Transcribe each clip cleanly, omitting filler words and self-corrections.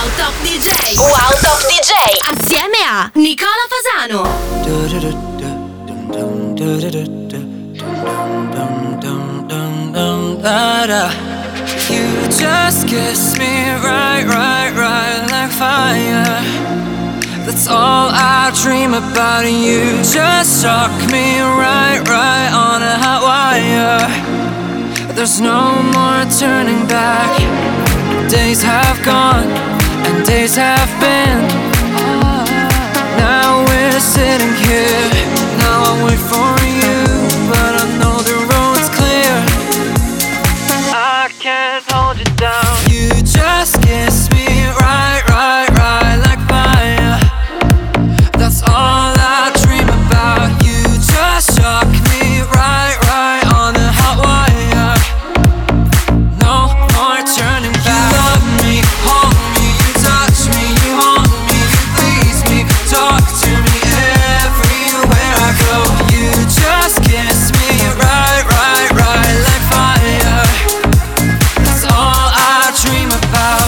Wow Top DJ. Wow Top DJ. Assieme a Nicola Fasano. You just kiss me right like fire. That's all I dream about. You just shock me right on a hot wire. There's no more turning back. Days have gone and days have been. Now we're sitting here. Now I wait for you, but I know the road's clear. I can't hold you down. You just kiss me right like fire. That's all I dream about. You just shock me right on the hot wire. No more turning back. You love me, hold me, you touch me, you haunt me, you please me, talk to me everywhere I go. You just kiss me right like fire. That's all I dream about.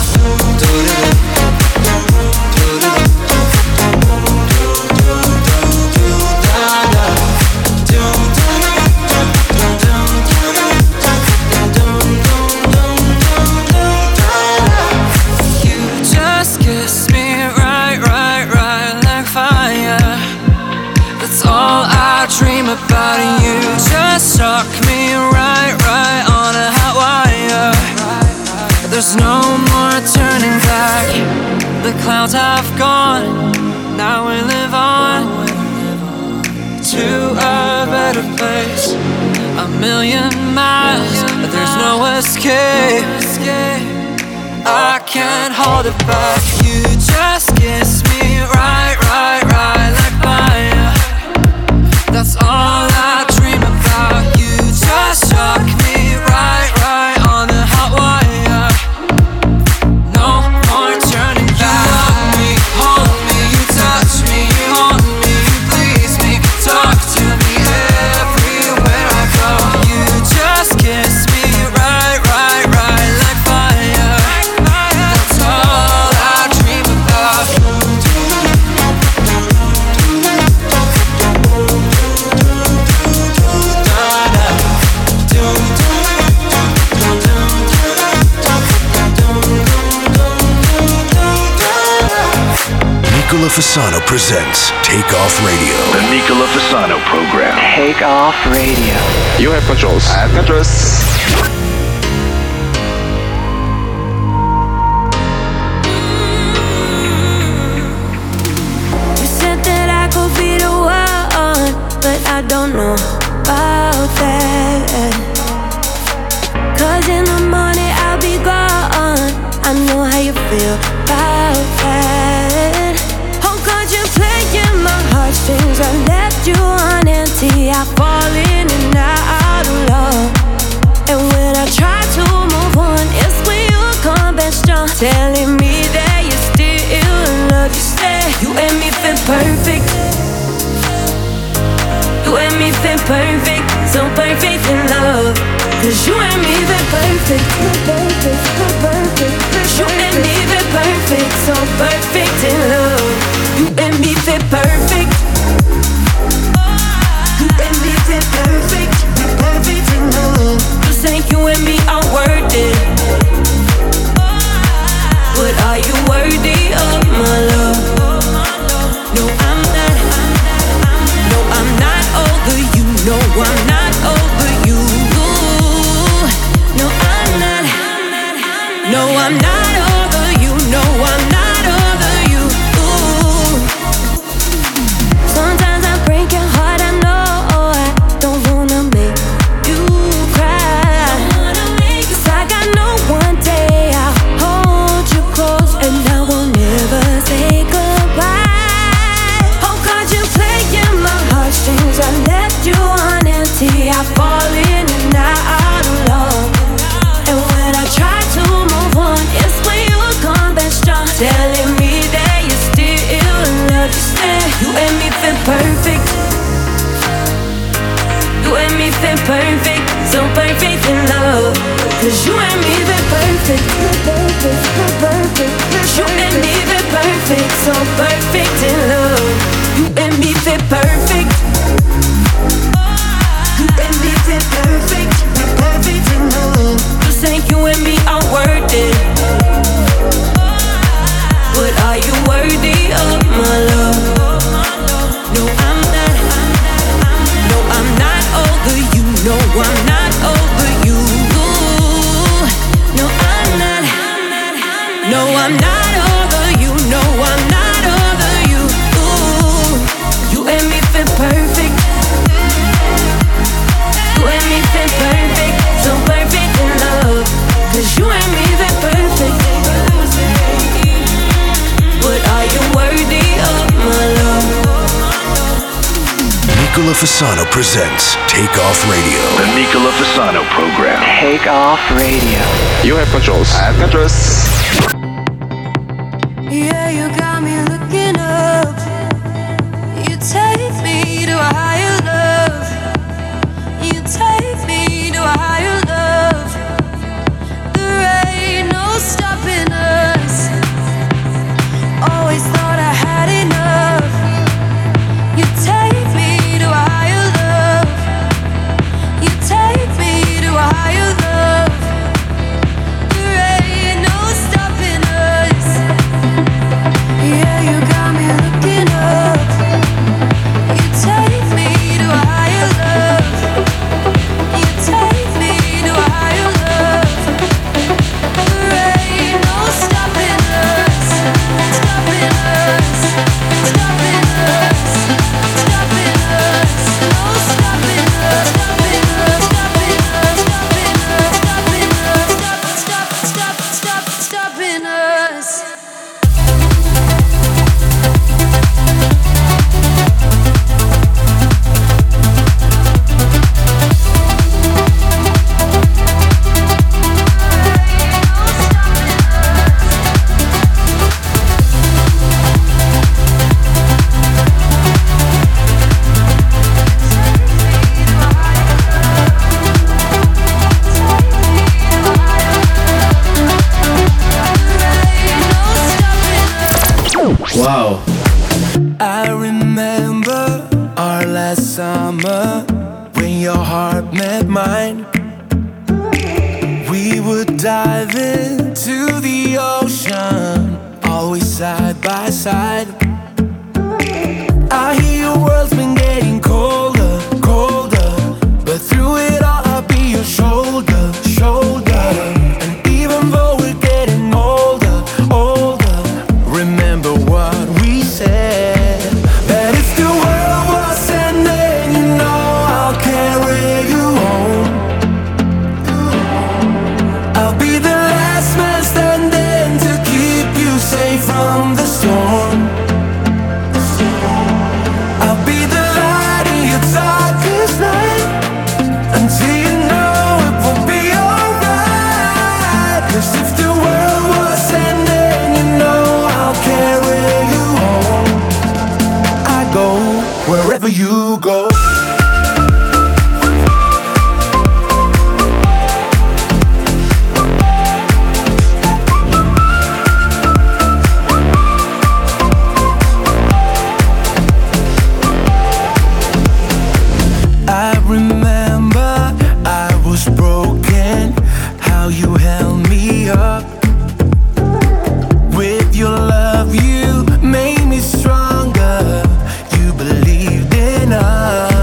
You just kiss me right like fire. That's all I dream about. And you just shock me right on a hot wire. There's no more turning back. The clouds have gone. Now we live on to a better place. A million miles, but there's no escape. I can't hold it back. You just kiss me right like fire. That's all I dream about. You just shock me right on the hot wire. No more turning back. You love me, hold me, you touch me, you haunt me, you please me, talk to me everywhere I go. You just kiss me right like fire. That's all I dream about. Nicola Fasano presents Take Off Radio. The Nicola Fasano program. Take Off Radio. You have controls. I have controls. You said that I could be the one, but I don't know about that. 'Cause in the morning I'll be gone. I know how you feel about that. Oh, contemplating my heartstrings, I left you on empty. I fall in and out of love. And when I try to move on, it's when you come back strong, telling me that you still in love. You say you and me fit perfect. You and me fit perfect, so perfect in love. 'Cause you and me fit perfect, perfect, perfect. You and me fit perfect, so perfect in love. You and me fit perfect. You and me fit perfect, perfect in love. You say you and me are worth it, but are you worthy of my love? No, I'm not. No, I'm not over you. No, I'm not over you. No, I'm not. No, I'm not over you. No, I'm not over you. Sometimes I break your heart. I know I don't wanna make you cry. 'Cause I got no one day I'll hold you close and I will never say goodbye. Oh, contemplating my heartstrings, I left you on empty. I fall in and out of love. And when I try to move on, it's when you come back strong, No, I'm not over you. No, I'm not over you. Ooh, you and me fit perfect. You and me fit perfect. So perfect in love. 'Cause you and me fit perfect. But are you worthy of my love? Nicola Fasano presents Take Off Radio. The Nicola Fasano program. Take Off Radio. You have controls. I have controls. Yeah, you got me looking up. You take me to a higher love. You take me to a higher love. There ain't no stopping us. Always thought I had enough. You take me to a higher love. You take me to a higher love. There ain't no stopping us. Yeah, you got me looking up. You take me to a higher love. You take me to a higher love. There ain't no stopping us. Stopping us. Stopping us. Stopping us. No stopping us. Stopping us. Stopping us. Stopping us. Stopping us. Wow. I remember our last summer when your heart met mine. We would dive into the ocean, always side by side. I hear your world's been getting colder, colder, but through it all I'll be your shoulder, shoulder. And even though we're getting older, older, remember what we said, that if the world was ending, you know I'll carry you home. I'll be the last man standing to keep you safe from the storm. I'll be the light in your darkest night, until you know it will be alright. 'Cause if the world was ending, you know I'll carry you home. I go wherever you go. I remember I was broken, how you held me up. With your love you made me stronger. You believed in us.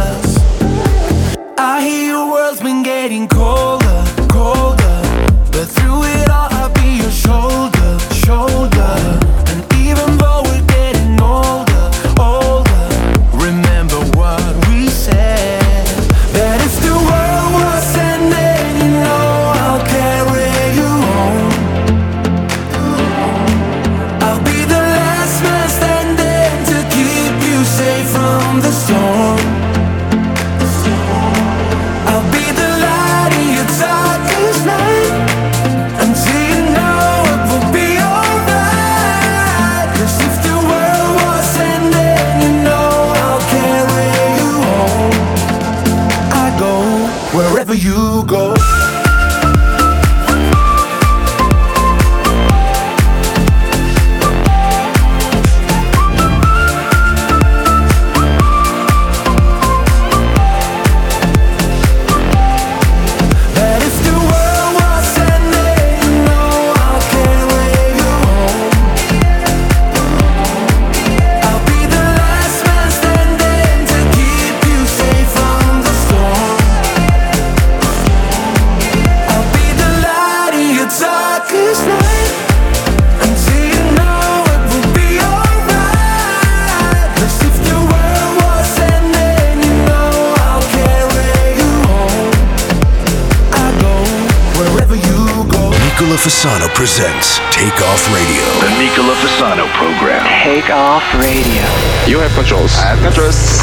Fasano presents Take Off Radio. The Nicola Fasano program. Take Off Radio. You have controls. I have controls.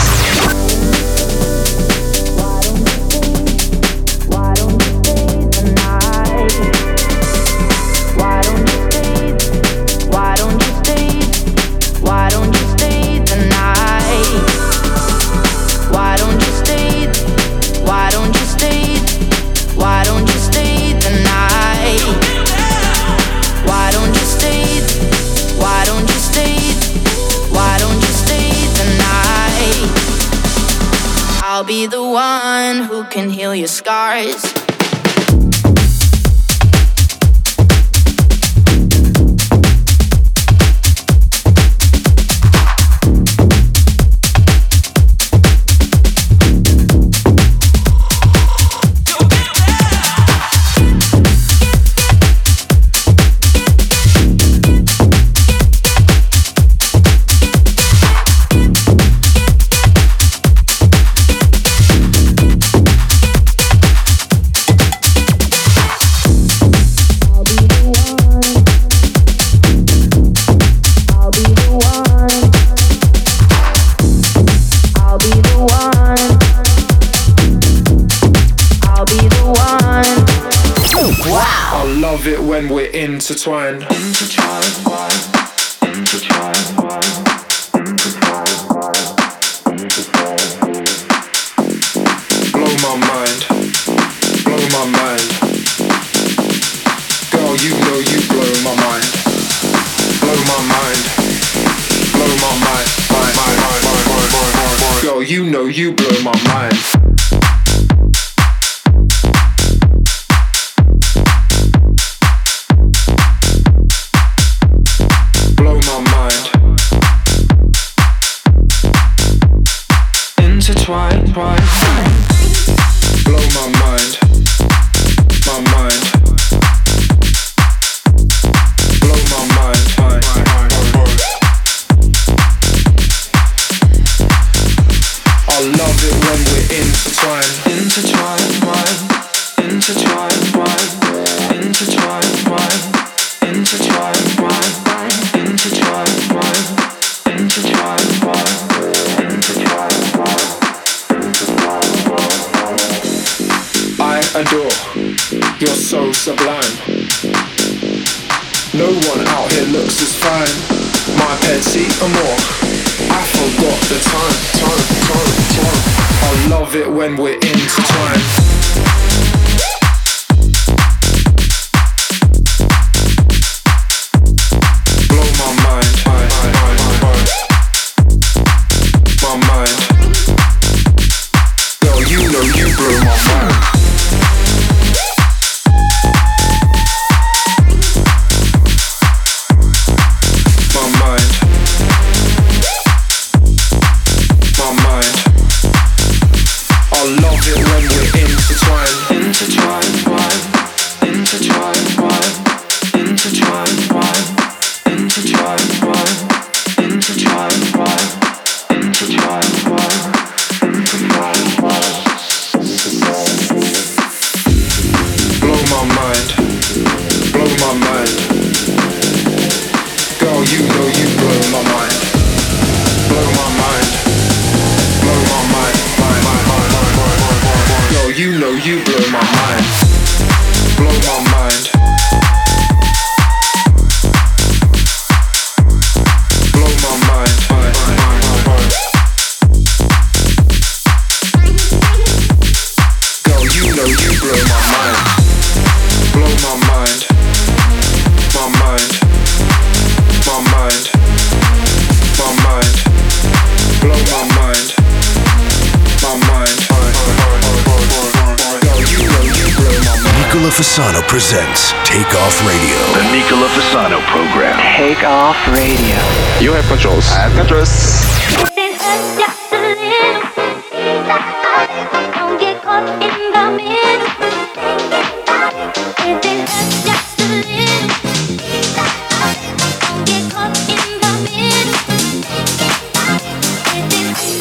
I'll be the one who can heal your scars. When we're intertwined. Blow my mind. Blow my mind. Girl, you know you blow my mind. Blow my mind. Blow my mind. Girl, you know you blow my mind. Blow my mind, my mind. Blow my mind, I love it when we're intertwined. Intertwined, intertwined, intertwined, intertwined, adore, you're so sublime. No one out here looks as fine. My petit amour, I forgot the time. I love it when we're intertwined. Blow my mind, my mind. Girl, you know you blow my mind. Fasano presents Take Off Radio. The Nicola Fasano program. Take Off Radio. You have controls. I have controls. If it hurts just a little, don't get caught in the middle. If it hurts just a little, don't get caught in the middle. If it hurts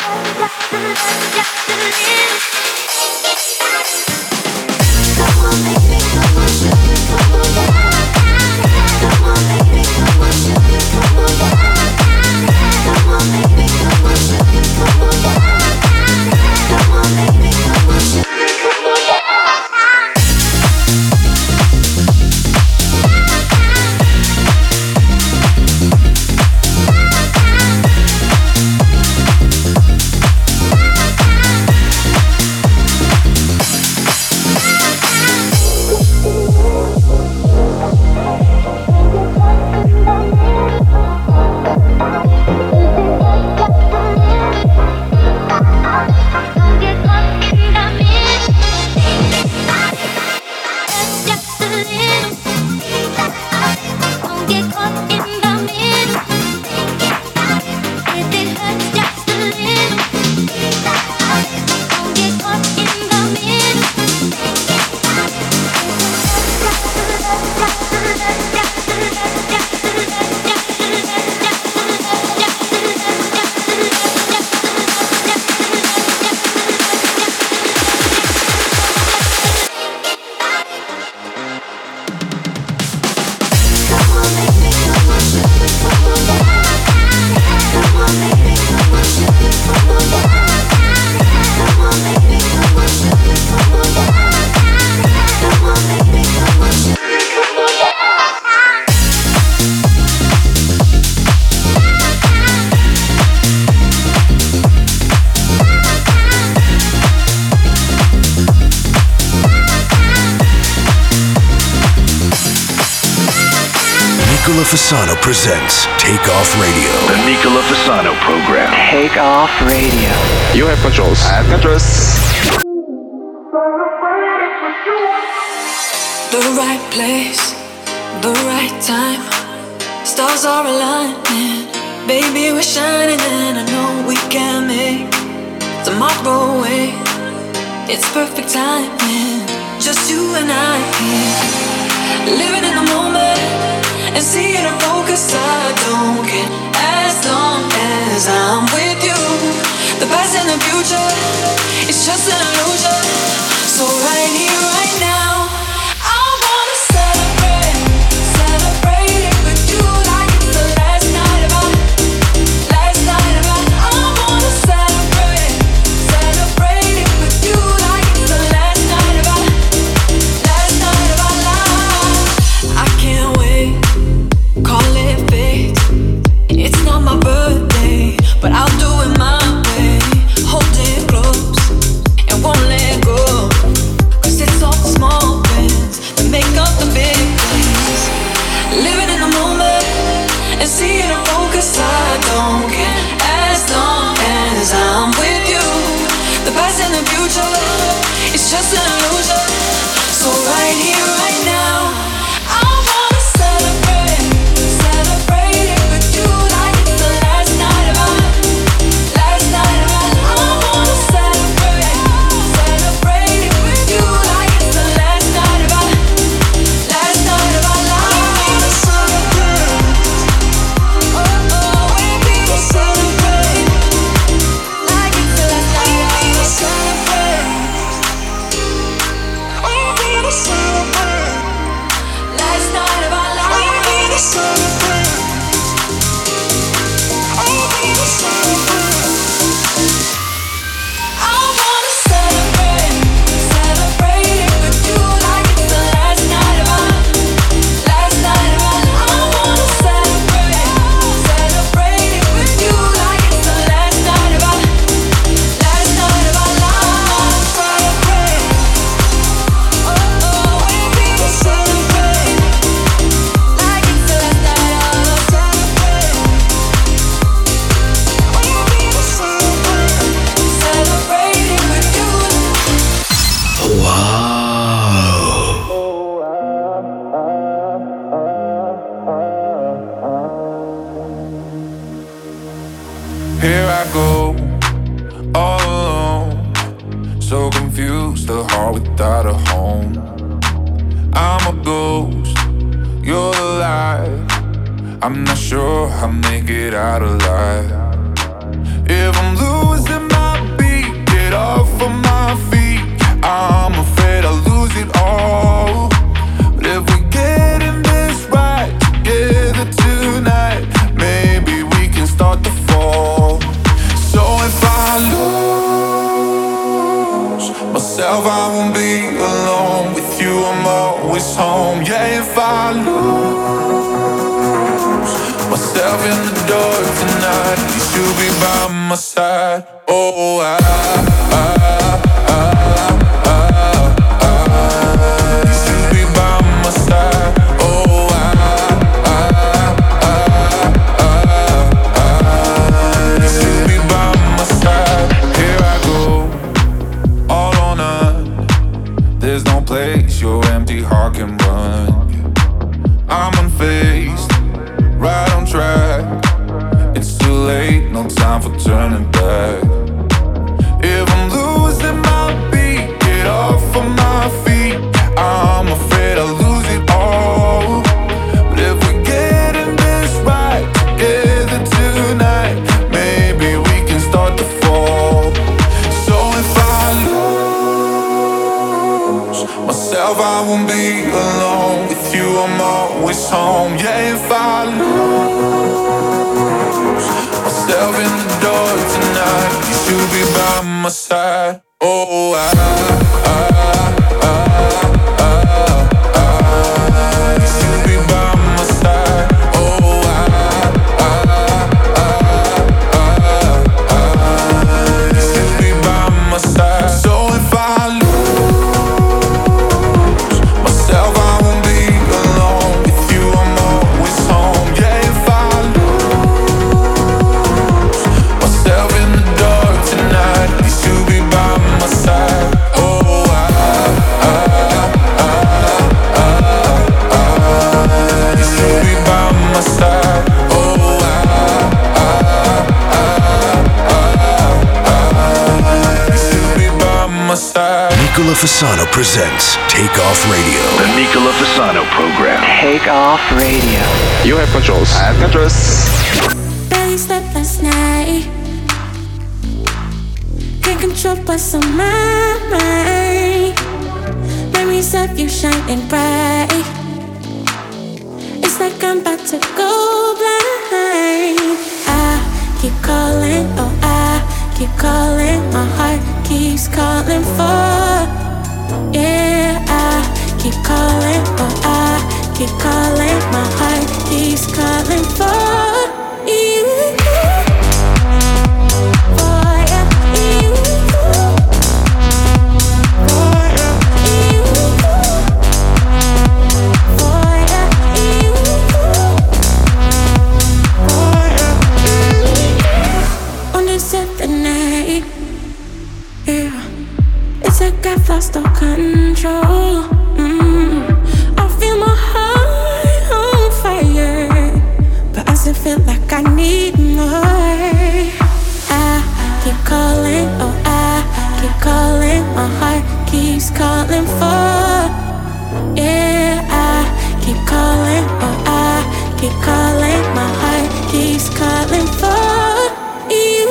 just a little. Nicola Fasano presents Take Off Radio. The Nicola Fasano program. Take Off Radio. You have controls. I have controls. The right place, the right time. Stars are aligning. Baby, we're shining and I know we can make tomorrow wait. It's perfect timing. Just you and I here. Living in the moment and seeing a focus. I don't care as long as I'm with you. The past and the future, it's just an illusion. So right here, right now, I wanna celebrate, celebrate it with you like it's the last night of our, last night of our. I wanna celebrate, celebrate it with you like it's the last night of our, last night of our lives. I can't wait, call it fate. It's not my birthday, but I'll do it my way. Hold it close and won't let go. 'Cause it's all the small things that make up the big things. Living in the moment and seeing a focus. I don't care as long as I'm with you. The past and the future, it's just an illusion. So right here, right now, I wanna celebrate, celebrate it with you like it's the last night of our, last night of our. I wanna celebrate, celebrate it with you like it's the last night of our, last night of our lives. Oh, oh, we will celebrate like it's the last night of our, we will celebrate. We will celebrate last night of our lives. We will celebrate. We will celebrate. I wanna celebrate, celebrate it with you like it's the last night of our, last night of our. I wanna celebrate, celebrate it with you like it's the last night of our, last night of our lives. Celebrate. Oh, oh, we will celebrate like it's the last night of our, celebrate. We will celebrate, celebrate it with you. Wow. Here I go, all alone, so confused, a heart without a home. I'm a ghost, you're alive. I'm not sure I'll make it out alive. If I'm losing my beat, get off of my feet. I'm afraid I'll lose it all. But if we get in this right together tonight, maybe we can start to fall. So if I lose myself, I won't be alone. With you, I'm always home. Yeah, if I lose myself in the dark tonight, you should be by my side. Oh, you should be by my side. Oh, you should be by my side. Here I go, all or none. There's no place your empty heart can run. I'm unfazed, right on track. It's too late, no time for turning back. If I'm losing my beat, get off of my feet. I'm afraid I'll lose it all. But if we get in this right together tonight, maybe we can start to fall. So if I lose myself, I won't be alone. With you, I'm always home. Yeah, if I lose myself in the dark tonight, you should be by my side. Oh, you should be by my side. Oh, you should be by my side. So if I lose myself, I won't be alone. With you, I'm always home. Fasano presents Take Off Radio. The Nicola Fasano program. Take Off Radio. You have controls. I have controls. Barely slept last night. Can't control what's on my mind. Memories of you shining bright. It's like I'm about to go blind. I keep calling, oh I keep calling. My heart keeps calling for. Yeah, I keep calling, oh I keep calling. My heart keeps calling for you. I've lost all control. I feel my heart on fire, but I still feel like I need more. I keep calling, oh I keep calling. My heart keeps calling for. Yeah, I keep calling, oh I keep calling. My heart keeps calling for you.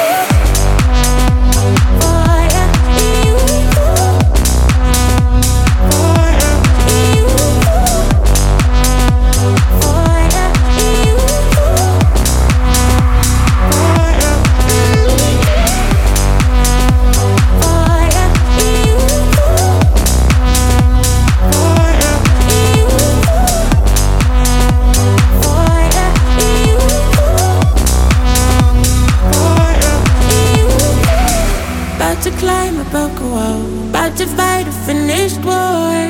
To climb a broken wall, about to fight a finished war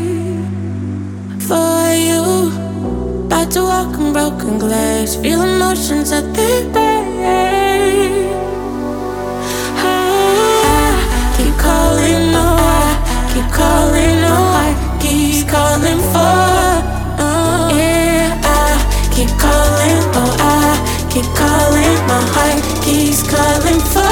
for you. About to walk on broken glass, feel emotions at their best. I keep calling, oh I keep calling, oh I keep calling for. Yeah, I keep calling, oh I keep calling. My heart keeps calling for.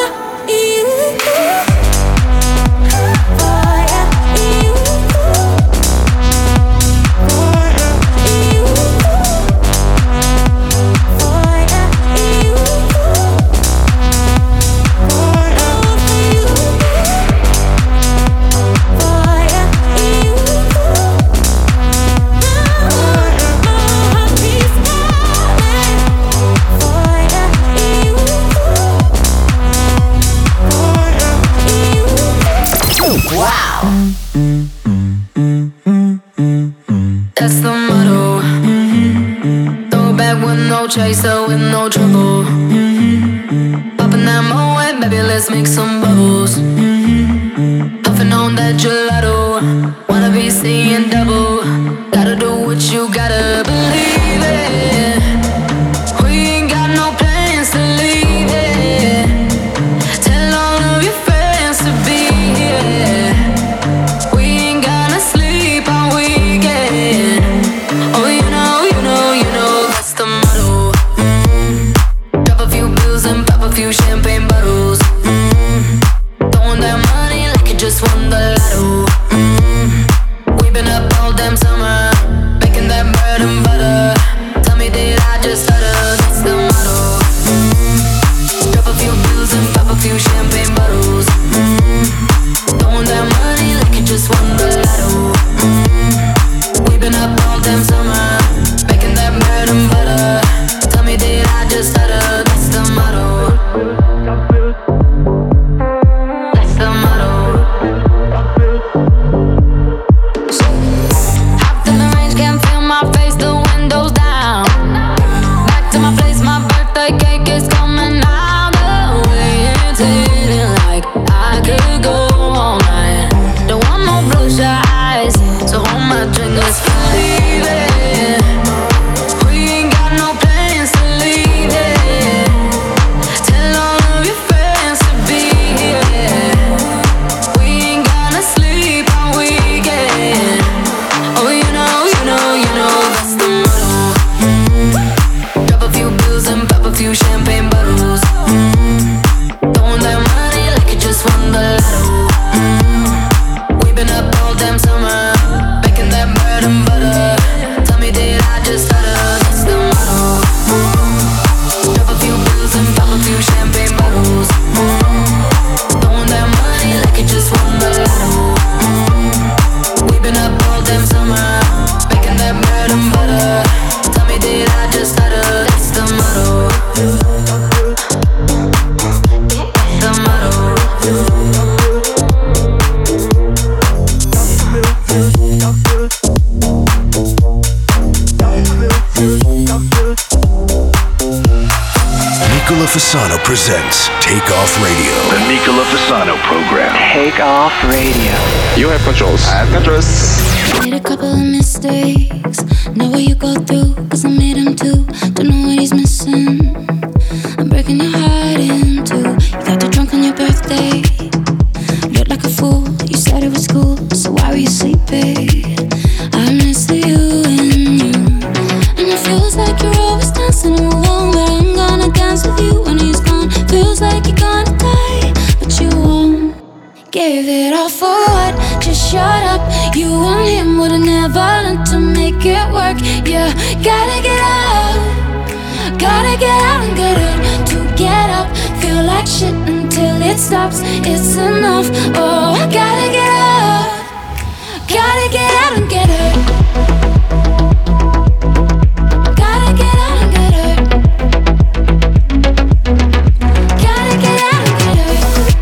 Chaser with no trouble. Popping that Moet, baby, let's make some bubbles. Puffing on that gelato, wanna be seeing double. Gotta do what you gotta believe it. We ain't got no plans to leave it. Tell all of your friends to be here. We ain't gonna sleep all weekend. Oh, you know, that's the motto. Few champagne bottles, throwing that money like you just won the lotto. We've been up all Nicola Fasano presents Take Off Radio. The Nicola Fasano program. Take Off Radio. You have controls. I have controls. Made a couple of mistakes. Know what you go through, cause I made him too. Don't know what he's missing. I'm breaking your heart in two. You got the drunk on your birthday. Looked like a fool, you said it was cool. So why were you sleeping? I miss you and you. And it feels like you're always dancing alone, but I'm gonna dance with you when he's gone. Feels like you're gonna die, but you won't. Gave it all for what? Just shut up. You and him would've never learned to make it work. Yeah, gotta get out. Gotta get out and get hurt. To get up, feel like shit until it stops. It's enough. Oh, gotta get out. Gotta get out and get hurt. Gotta get out and get hurt. Gotta get out and get hurt.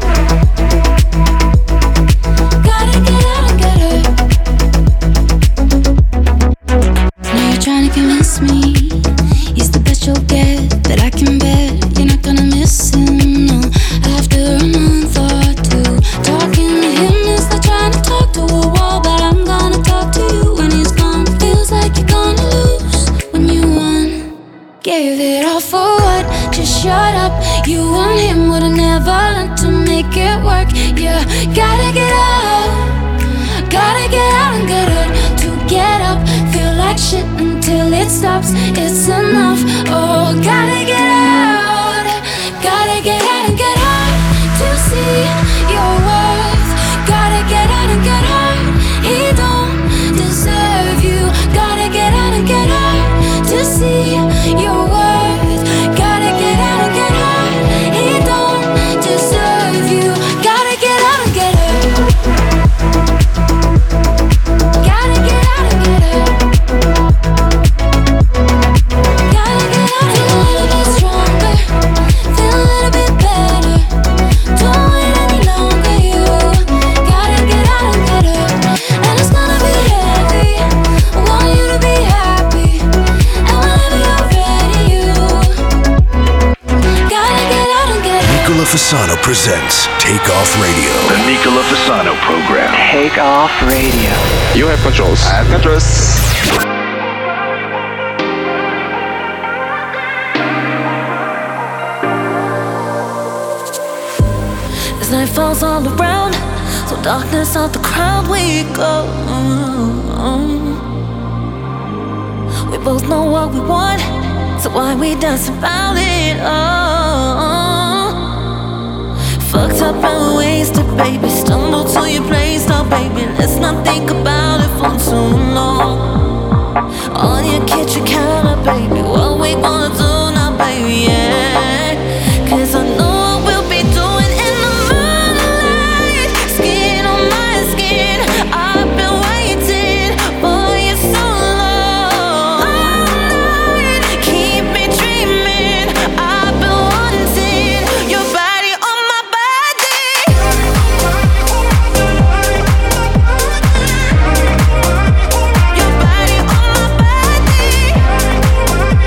Gotta get out and get hurt. Now you're trying to convince me he's the best you'll get, that I can bet you're not gonna miss him, no. After a month or two, talking to him is like trying to talk to a wall. But I'm gonna talk to you when he's gone. Feels like you're gonna lose when you won. Gave it all for what? Just shut up. You and him would've never learned to make it work. Yeah, gotta get out. Gotta get out and get hurt. To get up, feel like shit until it stops. It's enough. Oh, gotta get out. Gotta get out and get hurt to see your worth. Gotta get out and get hurt. He don't deserve you. Gotta get out and get hurt to see your worth. Gotta get out and get hurt. He don't deserve you. Gotta get out and get hurt. Gotta get out and get hurt. Gotta get out. Feel a little bit stronger. Feel a little bit better. Don't wait any longer. You gotta get out and get hurt. And it's gonna be heavy. I want you to be happy. And whenever you're ready, you gotta get out and get hurt. Nicola Fasano presents Take Off Radio. The Nicola Fasano program. Take Off Radio. You have controls. I have controls. As night falls all around, so darkness of the crowd we go. We both know what we want, so why we dance about it? Fucked up and wasted, baby. Stumble to your place now, baby. Let's not think about it for too long. On your kitchen counter, baby. What we gonna do now, baby? Yeah. 'Cause I know what we'll be doing in the moonlight. Skin on my skin. I've been waiting for you so long. All night, keep me dreaming. I've been wanting your body on my body. Your body on my body.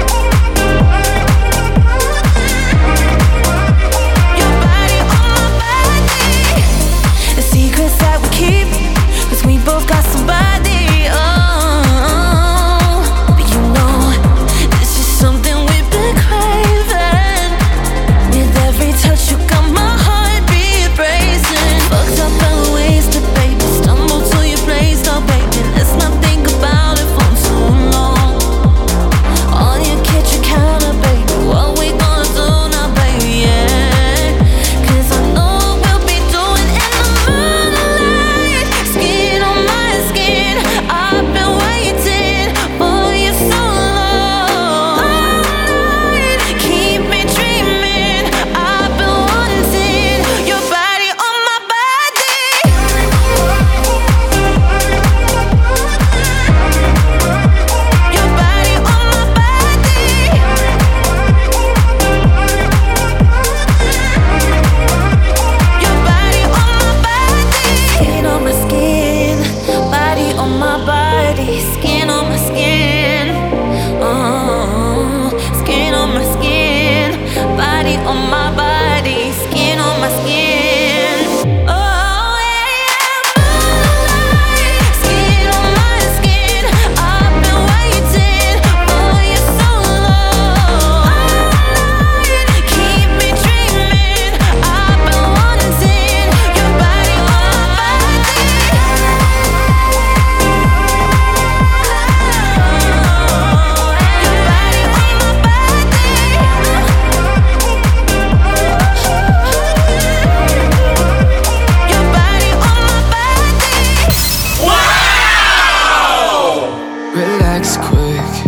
relax quick.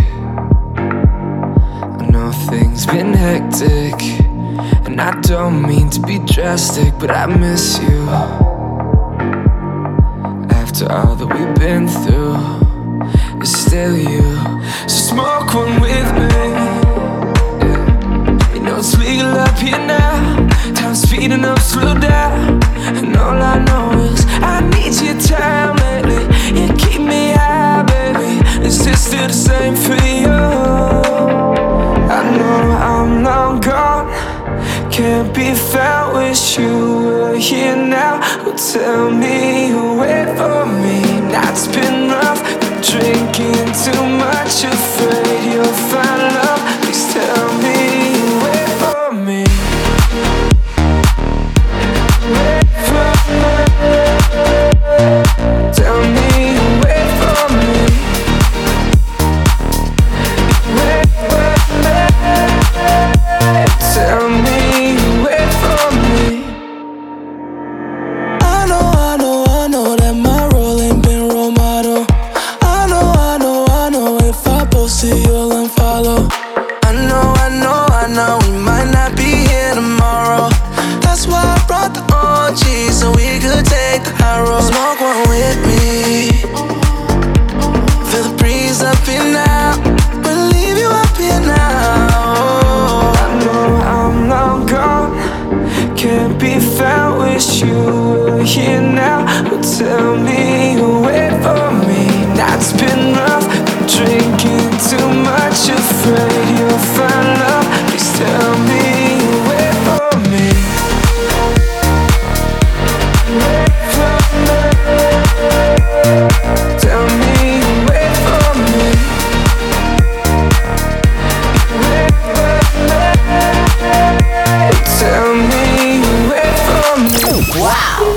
I know things been hectic, and I don't mean to be drastic, but I miss you. After all that we've been through, it's still you. So smoke one with me, yeah. You know it's legal up here now. Time's speeding up, slow down. And all I know is I need your time lately. You keep me high, baby. Is this still the same for you? I know I'm long gone, can't be found. Wish you were here now. Well, tell me you wait for me. Night's been rough, been drinking too much. Afraid you'll find love. Please tell me you wait for me. Wait for me. Tell me you wait for me. Wait for me. Tell me you wait for me. I know that my role ain't been role model. I know if I post it you'll unfollow. I know we might not be here tomorrow. That's why I brought the OG so we could take the high road. Smoke one with me, feel the breeze up here now. We'll leave you up here now. I know I'm long gone, can't be found. Wish you were here now. Well, tell me you wait for me. Night's been rough, been drinking too much. Afraid you'll find love. Please tell me you wait for me. Wait for me. Tell me you wait for me. Wait for me. Tell me you wait for me. Wow.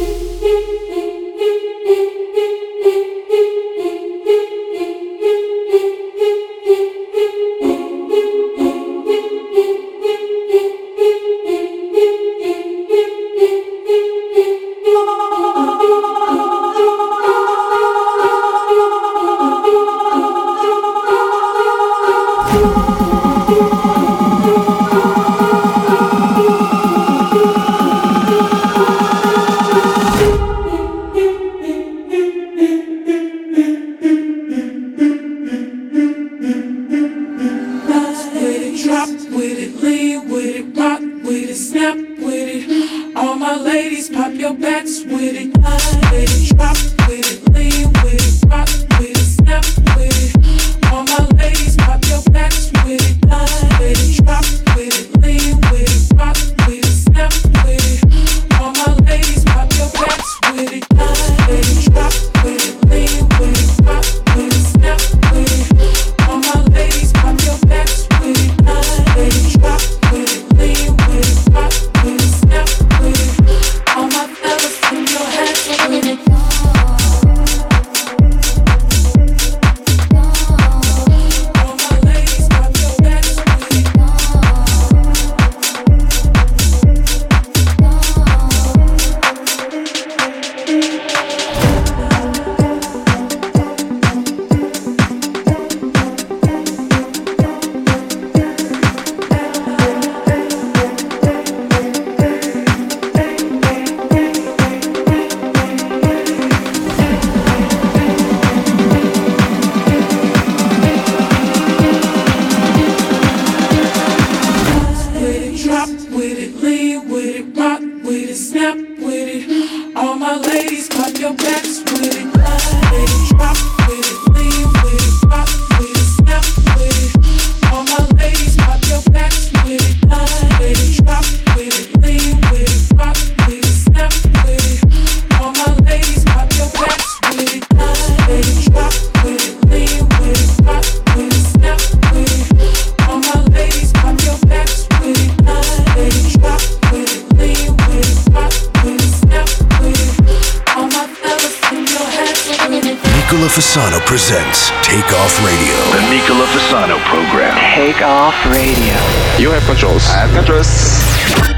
Fasano presents Take Off Radio. The Nicola Fasano program. Take Off Radio. You have controls. I have controls.